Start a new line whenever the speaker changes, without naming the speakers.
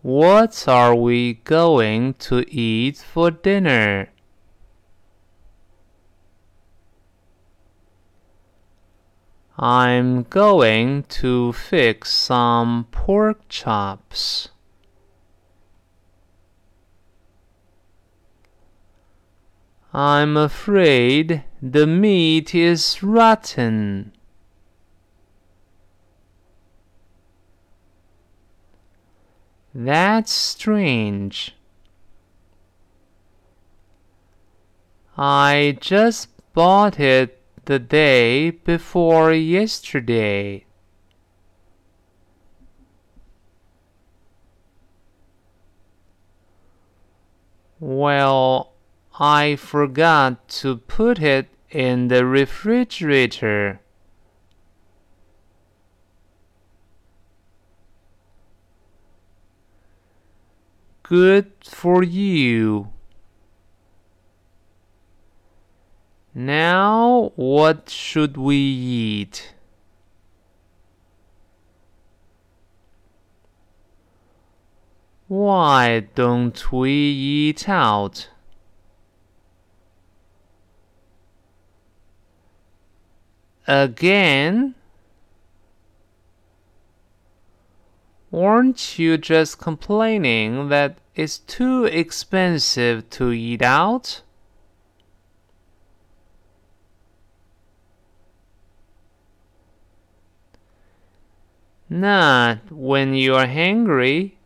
What are we going to eat for dinner? I'm going to fix some pork chops. I'm afraid the meat is rotten. That's strange. I just bought it the day before yesterday. Well, I forgot to put it in the refrigerator. Good for you. Now what should we eat? Why don't we eat out? Again? Weren't you just complaining that it's too expensive to eat out? Not when you're hungry.